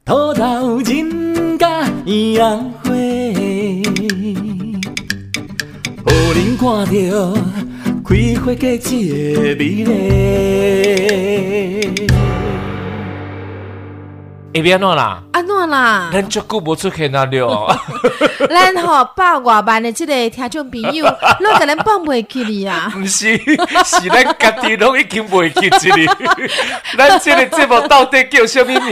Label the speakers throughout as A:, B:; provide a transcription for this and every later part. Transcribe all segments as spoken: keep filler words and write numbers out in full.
A: 土豆人甲鸳鸯花，予人看到开花季节的美丽。
B: 会变怎啦？
C: 安怎啦？
B: 咱足久无出现啊了。
C: 咱吼百外万的这个听众朋友，拢甲咱放袂起哩啊！
B: 不是，是咱家己拢已经袂记一哩。咱这个节目到底叫什么名？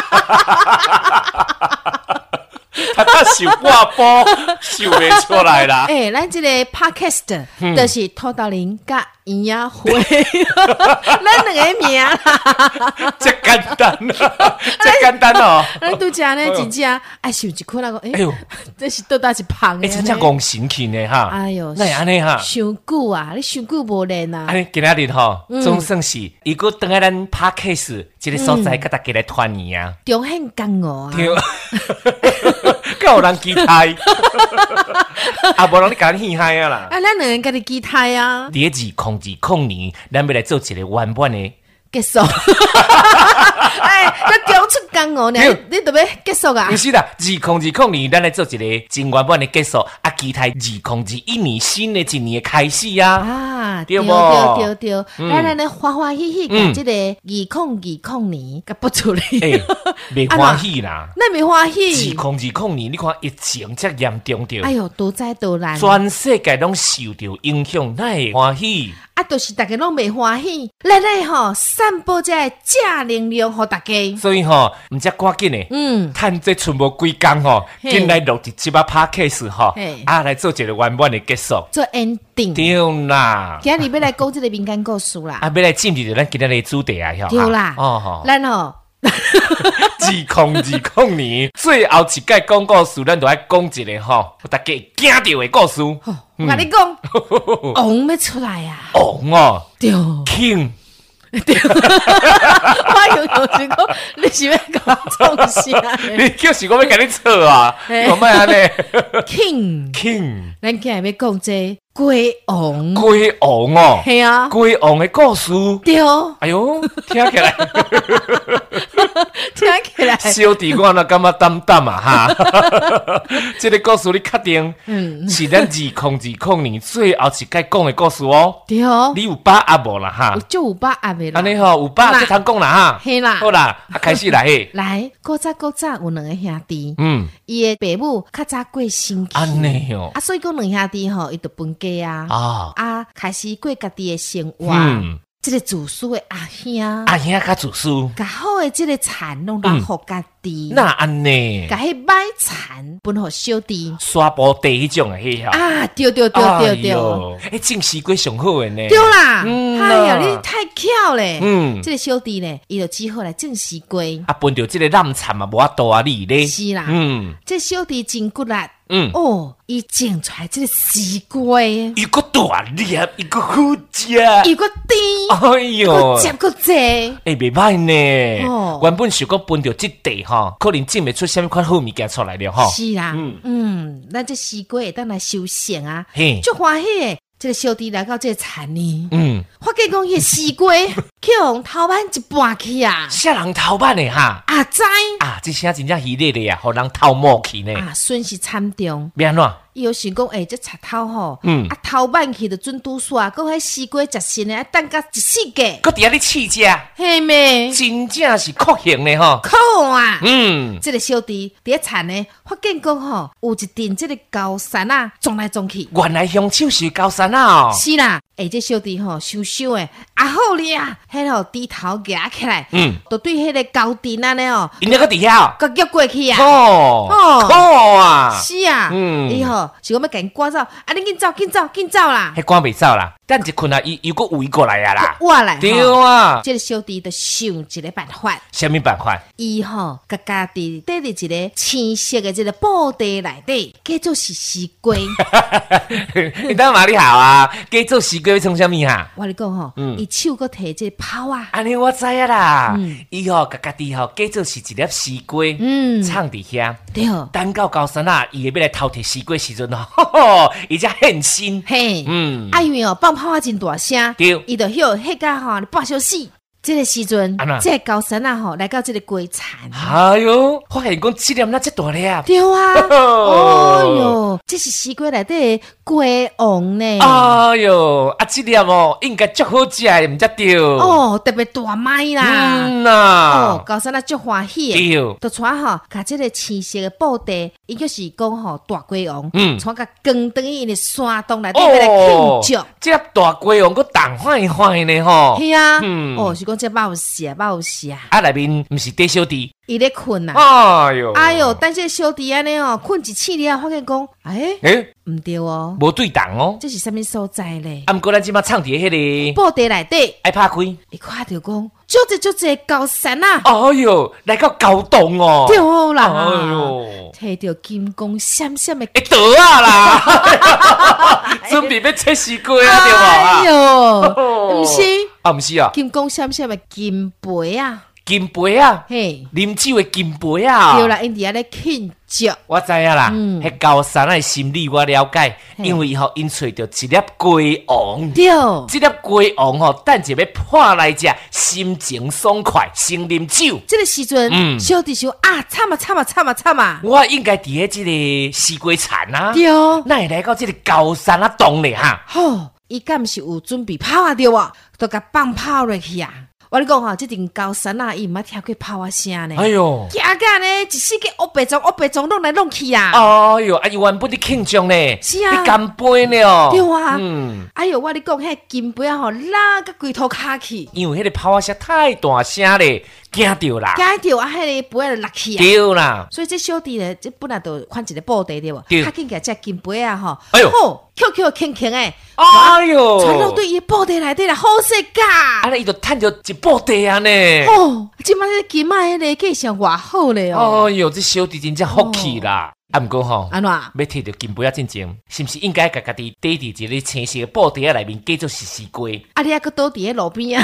B: 他他想挂波，想袂出来啦。
C: 诶、欸，咱这个 podcast 就是土豆人甲鸳鸯花，咱两个名啦。
B: 这简单啊，这简单哦。
C: 咱拄则呢，真正爱想一困那个，诶、欸，哎呦，这是倒搭一胖的。
B: 哎、欸，真正讲神奇呢哈。
C: 哎呦，
B: 那安尼哈，
C: 伤久啊，你伤久无练啊。
B: 安尼今仔日吼，总算是伊个等下咱 podcast 这个所在，甲大家来团圆啊。
C: 中很刚哦啊。
B: 敢有人期待？啊，无人你甲咱戏嗨啊啦！
C: 啊，咱两个人甲你期待啊！
B: 第二空二空年，咱要来做一个完满的
C: 结束。哎，咱讲出刚哦，你你特别结束啊？
B: 不是啦，二空二空年，咱来做一个真完满的结束，啊，期待二空二一年新的一年的开始啊！
C: 啊，
B: 对不？
C: 对对对，咱咱来欢欢喜喜，把这个二空二空年给不出来。
B: 哎，未欢喜啦，
C: 那没欢喜。
B: 二空二空年，你看疫情这严重着，
C: 哎呦，多灾多难，
B: 全世界拢受到影响，哪会欢喜？
C: 啊，就是大家拢未欢喜，咱来吼散播这正能量给大家。
B: 所以吼，唔只赶紧的，嗯，趁这剩无几工吼，紧来录一集啊 podcast 吼，啊来做一个完满的结束，
C: 做 ending。
B: 对啦，
C: 今日要来讲这个民间故事啦，
B: 啊，要来进入咱今日的主题啊，
C: 对啦，哦吼，咱吼。
B: 二空二空年，最后一届讲故事，咱就爱讲一个吼，大家惊到的故事。
C: 我跟你讲，王要出来啊！
B: 王哦，
C: 对
B: ，King。
C: 对，我有有时讲，你是要讲创啥？
B: 你就是我要跟你错啊！我卖安尼
C: ，King
B: King，
C: 咱今日要讲这鬼王，
B: 鬼王哦，
C: 系啊，
B: 鬼王的故事，
C: 对，
B: 哎呦，听起来，
C: 听起来，
B: 小弟我那感觉淡淡啊哈！这个故事你确定？嗯，是咱二空二空年最后一届讲的故事哦。
C: 对，
B: 你有把握无啦哈？
C: 就有把握的啦。
B: 安尼吼，有把握就通讲啦哈。
C: 系啦，
B: 好啦，啊开始来嘿。
C: 来，古早古早有两个兄弟，
B: 嗯，
C: 伊的爸母较早过身去，
B: 安尼哦，
C: 啊，所以讲两兄弟吼，伊就分家啊，啊，啊，开始过家己的生活。嗯。这个自私的阿兄，
B: 阿兄较自私，
C: 甲好的这个田拢留互家己，
B: 那安尼，
C: 甲迄歹田分互小弟，
B: 沙坡地迄种的迄吼，
C: 啊，对对对对对，
B: 哎，种西瓜上好的呢，
C: 对啦，哎呀，你太巧咧，
B: 嗯，
C: 这个小弟呢，伊就只好来种西瓜，
B: 啊，分到这个烂田嘛，无法度啊，你咧，
C: 是啦，嗯，这小弟真骨力。嗯哦，伊种出来这个西瓜，
B: 一个大粒，一个好食，
C: 一个甜，
B: 哎呦，
C: 个汁个济，
B: 哎，袂歹呢。哦，原本想讲分到这地哈，可能种袂出什么款好物件出来了哈。
C: 是啦，嗯嗯，咱这西瓜会当来收成啊，嘿，足欢喜的。这个小弟来到这个田里，嗯，发觉讲迄西瓜去用头版一搬去啊，
B: 啥人头版的哈？
C: 啊知
B: 啊，这声真正稀咧咧啊，互人头毛去呢，
C: 啊，损失惨重。
B: 变怎？
C: 伊有想讲，诶、欸，这插头吼，嗯，啊头版去就准拄煞，搁迄西瓜食新诶，啊等甲一世界，
B: 搁伫遐咧试食，
C: 嘿咩？
B: 真正是酷刑咧吼，
C: 酷啊！
B: 嗯，
C: 这个小弟伫遐田呢，发现讲吼，有一阵这个高山啊，撞来撞去，
B: 原来凶手是高山啊！哦，
C: 是啦，诶、欸，这小弟吼，想想诶，啊好哩啊，迄吼低头夹起来，嗯，就对迄个高顶安尼哦，
B: 因那个底下，
C: 个夹过去啊，
B: 哦哦，酷啊！
C: 是啊，嗯，伊吼是讲要甲因赶走，啊，你紧走，紧走，紧走啦！
B: 迄赶袂走啦，等一困啊，伊又搁围过来啊啦，
C: 我来，
B: 对啊，
C: 这个小弟就想一个办法，
B: 什么办法？
C: 伊吼，甲家己缀伫一个青色的这个布袋内底，叫做是西瓜。
B: 你当嘛你好啊，叫做西瓜要创啥物哈？
C: 我跟你讲吼，伊、嗯、手搁摕这个刨啊，
B: 安尼我知啊啦，伊吼甲家己吼叫做是一粒西瓜，嗯，藏伫遐，
C: 对，
B: 等到高山啊，伊会要来偷摕西瓜时阵吼，伊才现身，
C: 嘿，嗯，啊因为哦放炮啊真大声，
B: 对，
C: 伊就晓迄个吼半小时。 这个时阵，这个高山啊吼，来到这个龟田。
B: 哎呦，发现讲这粒那这大粒。
C: 对啊，哦哟，这是西瓜内底的龟王呢。
B: 哎呦，啊这粒哦，应该足好食的，唔则对。
C: 哦，特别大麦啦。
B: 嗯呐。
C: 哦，高山啊足欢喜。
B: 对。
C: 就带吼，甲这个青色的布袋，伊就是讲吼大龟王，嗯，带甲光灯因的山洞内底来庆祝。
B: 这粒大龟王，佮动坏坏呢吼。
C: 是啊。嗯。哦，是讲这肉食，肉食。
B: 啊，内面唔是短小弟。
C: 伊咧困啊！
B: 哎呦，
C: 哎呦，但这小弟安尼哦，困一次了，发现讲，哎，哎，唔对哦，
B: 无对档哦，
C: 这是什么所在咧？
B: 啊，毋过咱即马唱伫迄
C: 个布袋内底，
B: 爱拍开，
C: 伊看到讲，足只足只高山啊！
B: 哎呦，来到高洞哦，
C: 对啦，
B: 哎呦，
C: 摕到金光闪闪的，
B: 会倒啊啦，准备要切西瓜啊，对吧？
C: 哎呦，唔是，
B: 啊，唔是啊，
C: 金光闪闪的金杯啊！
B: 金杯啊，嘿，啉酒的金杯啊，
C: 对啦，因伫遐咧庆祝，
B: 我知影啦，嗯，迄高山的心理我了解，因为吼因找到一粒龟王，
C: 对，
B: 这粒龟王吼，等下要破来食，心情爽快，先啉酒。
C: 这个时阵，嗯，小弟想啊，惨啊惨啊惨啊惨啊！
B: 我应该伫喺这个西瓜田啊，
C: 对，
B: 那会来到这个高山啊洞咧哈。
C: 吼，伊敢是有准备跑啊对啊，都甲放跑落去啊！我跟你讲哈，这顶高山啊，伊毋捌听过炮啊声呢。哎呦，惊干呢，一世界乌白种乌白种弄来弄去啊！
B: 哎呦，啊伊原本伫庆祝呢，
C: 是啊，
B: 你干杯呢？
C: 对啊，嗯，哎呦，我跟你讲，迄金杯啊吼，拉个龟头卡去，
B: 因为迄个炮啊声太大声咧，惊到啦，
C: 惊到啊，迄个杯啊落去啊，
B: 对啦。所
C: 以这小弟咧，这本来就款一个布袋对无，较紧个只金杯啊吼，
B: 哎呦，
C: Q Q 轻轻诶，
B: 哎呦，
C: 传到对伊布袋内底啦，好势噶，
B: 啊，伊就趁着一布袋啊呢。
C: 哦，即摆这金仔迄个价钱偌好咧
B: 哦！哎呦，这小弟真正福气啦！啊，毋过吼，
C: 安怎？
B: 要摕到金杯啊，进前是毋是应该甲家己缀伫一个青色布袋啊内面，继续是西瓜？
C: 啊，你还搁倒伫咧路边啊？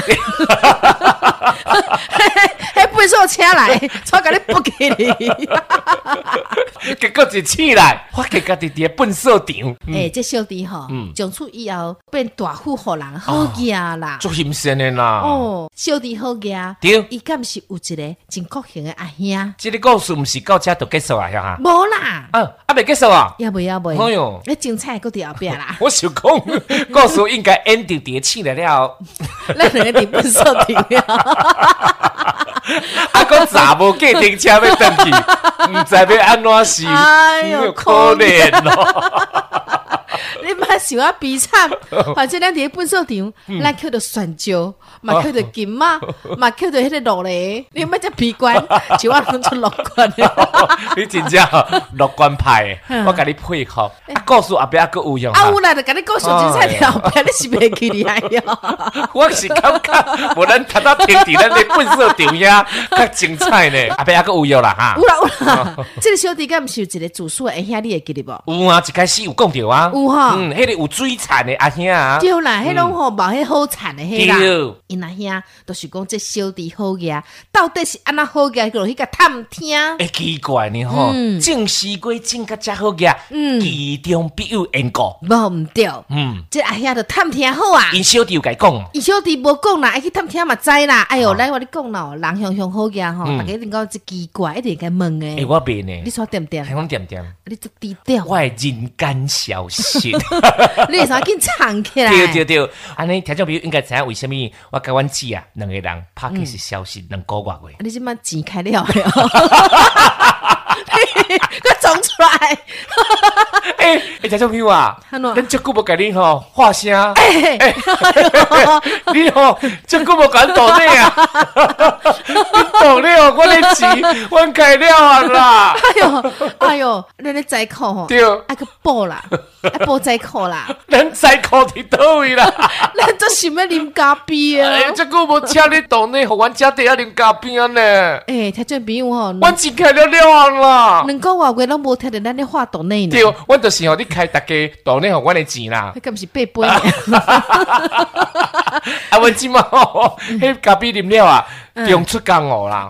C: 迄背手车来，我甲你扑起你。
B: 结果一起来，发觉家己伫咧粪扫场。
C: 诶，这小弟吼，从此以后变大富户人，好嘢啦，
B: 足欣赏的啦。
C: 哦，小弟好嘢，
B: 对，
C: 伊敢是有一个真国型的阿兄。
B: 这个故事毋是到这就结束啊，吓哈？
C: 无啦。
B: 啊，啊未结束啊？
C: 要不要不？
B: 哎呦，
C: 你精彩搁伫后壁啦。
B: 我想讲，故事应该 ending 伫起来了。
C: 咱两个伫粪扫场了。
B: 啊，个查某计程车要登去，唔知要安怎是？
C: 哎呦，
B: 可怜哦！
C: 你莫想啊悲惨，反正咱伫咧粪扫场，咱捡到酸椒，嘛捡到金马，嘛捡到迄个落嚟，你莫只悲观，就我拢出乐观的。
B: 你真正乐观派的，我甲你佩服。啊，故事后壁还佫有用。
C: 啊，有啦，就甲你故事精彩了，后壁你是袂记哩哎哟。
B: 我是感觉，无咱头仔听伫咱咧粪扫场遐较精彩呢，后壁还佫有用啦哈。
C: 有啦有啦，这个小弟敢毋是有一个自述的兄，你会记得无？
B: 有啊，一开始有讲着啊。
C: 有哈，
B: 嗯，迄个有水产的阿兄啊，
C: 对啦，迄种吼冇迄好产的迄啦，因阿兄都是讲这小弟好个，到底是安那好个，落去甲探听。
B: 诶，奇怪呢吼，种西瓜种甲遮好个，嗯，其中必有缘故。
C: 无毋对，嗯，这阿兄就探听好啊。
B: 因小弟有甲伊讲，
C: 因小弟无讲啦，爱去探听嘛知啦。哎哟，来我你讲咯，人向向好个吼，大家一定讲这奇怪，一定该问诶。
B: 诶，我变呢，
C: 你说点点？
B: 我点点，
C: 你做低调。
B: 我人间小心。
C: 你为啥紧藏起来？
B: 对对对，安尼听众朋友应该知影为什么我甲阮姊啊两个人拍起是消息两个月
C: 月。你即摆钱开了了，我装出来。
B: 诶诶，听众朋友啊，咱足久无甲你吼话声，
C: 诶，
B: 你吼足久无甲咱道理啊，你道理哦，我咧钱，阮开了啊啦。
C: 哎呦哎呦，咱咧在库吼，
B: 对，
C: 爱个补啦，爱补在库啦，
B: 咱在库伫倒位啦？
C: 咱都想要啉咖啡啊！
B: 哎，足久无请你道理，互阮遮底下啉咖啡呢。
C: 诶，听众朋友吼，
B: 阮钱开了了啊啦，
C: 两个月月拢无听到咱咧话道理呢。
B: 对，阮就是吼你开大家道理互阮的钱啦。
C: 迄敢是八杯？
B: 啊，阮即马吼，迄咖啡啉了啊， 中出江湖啦，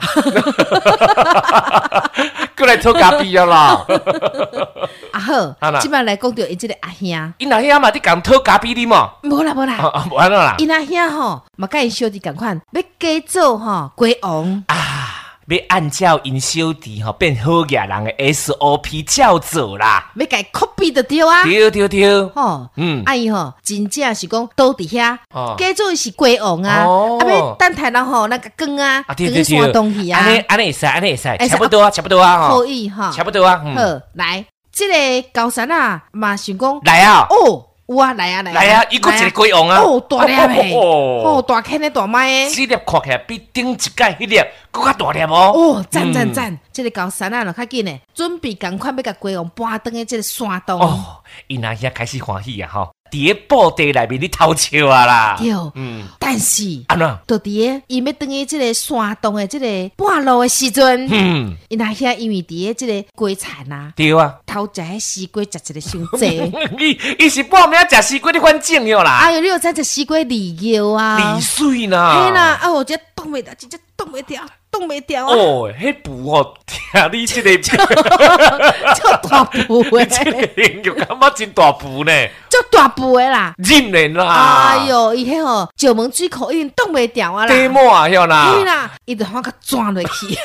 B: 过来讨咖啡啊啦。
C: 啊好，即摆来讲到伊即个阿兄，
B: 因阿兄嘛，你讲讨咖啡啉嘛？
C: 无啦无啦，
B: 啊无安怎啦？
C: 因阿兄吼，嘛甲因小弟共款，要加做吼龟王
B: 啊。要按照因小弟吼变好野人的 S O P 照做啦，
C: 要甲伊 copy 就对啊，
B: 对对对，
C: 吼，嗯，啊伊吼真正是讲倒伫遐，假做是龟王啊，啊要等台人吼那个光啊，光山东去啊，
B: 安尼安尼会使，安尼会使，差不多啊，差不多啊，
C: 可以哈，
B: 差不多啊，
C: 好，来，即个高山啊，嘛想讲
B: 来啊，
C: 哦。有啊，来啊，来啊！
B: 来啊，伊佫一个龟王啊！
C: 哦，大粒诶！哦，大坑诶，大麦诶！
B: 这粒看起来比顶一届迄粒佫较大粒哦！
C: 哦，赞赞赞！这个高山啊，就较紧诶，准备赶快要甲龟王搬登诶，这个山洞。
B: 哦，伊那遐开始欢喜啊！吼，伫个布袋内面咧偷笑啊啦！
C: 对，嗯，但是
B: 安怎？
C: 就伫个伊要登去这个山洞诶，这个半路诶时阵，嗯，伊那遐因为伫个这个龟田啊，
B: 对啊，
C: 偷食迄西瓜食一个伤济。
B: 伊伊是半暝食西瓜咧反正哟啦！
C: 哎呦，你有知食西瓜利尿啊？
B: 利水啦！
C: 嘿啦，啊，我这冻袂掉，真正冻袂掉。冻袂掉啊！
B: 哦，迄布哦，听你这个
C: 叫大布诶，
B: 这个形容感觉真大布呢，
C: 叫大布诶啦，
B: 真然啦！
C: 哎哟，伊迄吼石门水库已经冻袂掉啊啦，
B: 地膜啊，晓啦，
C: 嘿啦，伊就反个钻落去，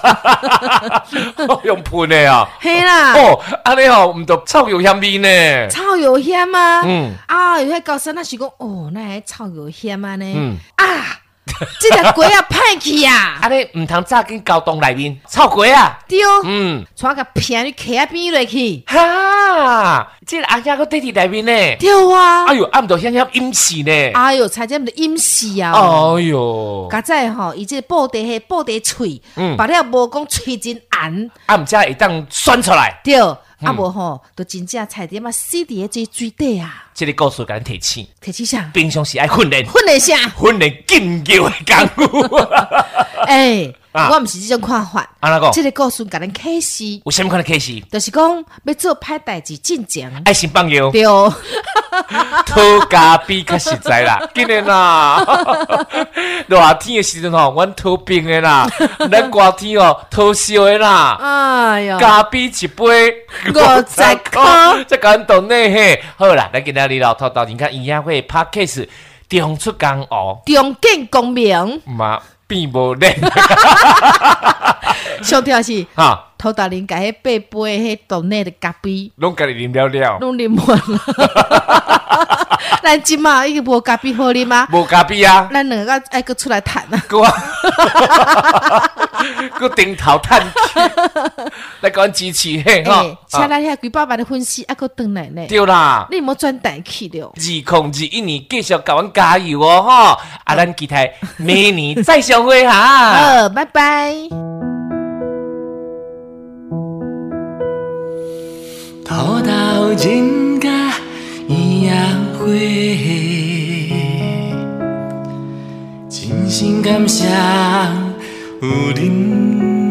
B: 用喷的啊，
C: 嘿啦，
B: 哦，安尼吼，毋着臭油香味呢，
C: 臭油香啊，
B: 嗯，
C: 啊，有迄高山那是讲，哦，那还臭油香啊呢，嗯啊。这条龟啊，歹去啊！
B: 安尼唔通早紧交洞内面臭龟啊！
C: 对，嗯，带个片去徛边落去。
B: 哈，这个阿兄个地伫内面呢？
C: 对啊！
B: 哎呦，暗度险险阴死呢！
C: 哎呦，才这么阴死啊！
B: 哎呦，
C: 刚才吼，伊这布袋迄布袋喙，嗯，把了无讲喙真红，
B: 啊，毋则会当酸出来。
C: 对。啊无吼，都真正菜点嘛死伫个水底啊！
B: 这个故事甲咱提醒，
C: 提醒啥？
B: 平常时爱训练，
C: 训练啥？
B: 训练紧叫的功夫。
C: 哎，我毋是这种看法。
B: 安怎讲？
C: 这个故事甲咱启示，
B: 有啥物款的启示？
C: 就是讲要做歹代志进前，
B: 爱心放药。
C: 对，
B: 讨咖啡较实在啦，紧的啦。热天的时阵吼，阮讨冰的啦；咱热天哦，讨烧的啦。
C: 哎呀，
B: 咖啡一杯
C: 五十块，
B: 这简单呢嘿。好啦，咱今仔日老头到人家营养会 podcast 中出江湖，
C: 中建公明，
B: 嘛变无练。
C: 上条是
B: 哈，
C: 头大人家迄八杯迄冻内的咖啡，
B: 拢家己啉了了，
C: 拢啉完了。咱即马已经无咖啡好啉吗？
B: 无咖啡啊，
C: 咱两个爱搁出来谈啊。
B: 搁啊，搁顶头叹气，来讲支持嘿哈。
C: 请咱遐几百万的粉丝，还搁转来呢。
B: 对啦，
C: 你莫转台去了。
B: 二零二一年继续甲阮加油哦哈！啊，咱期待明年再相会哈。
C: 好，拜拜。
A: 土豆人甲伊也花，真心感谢有恁。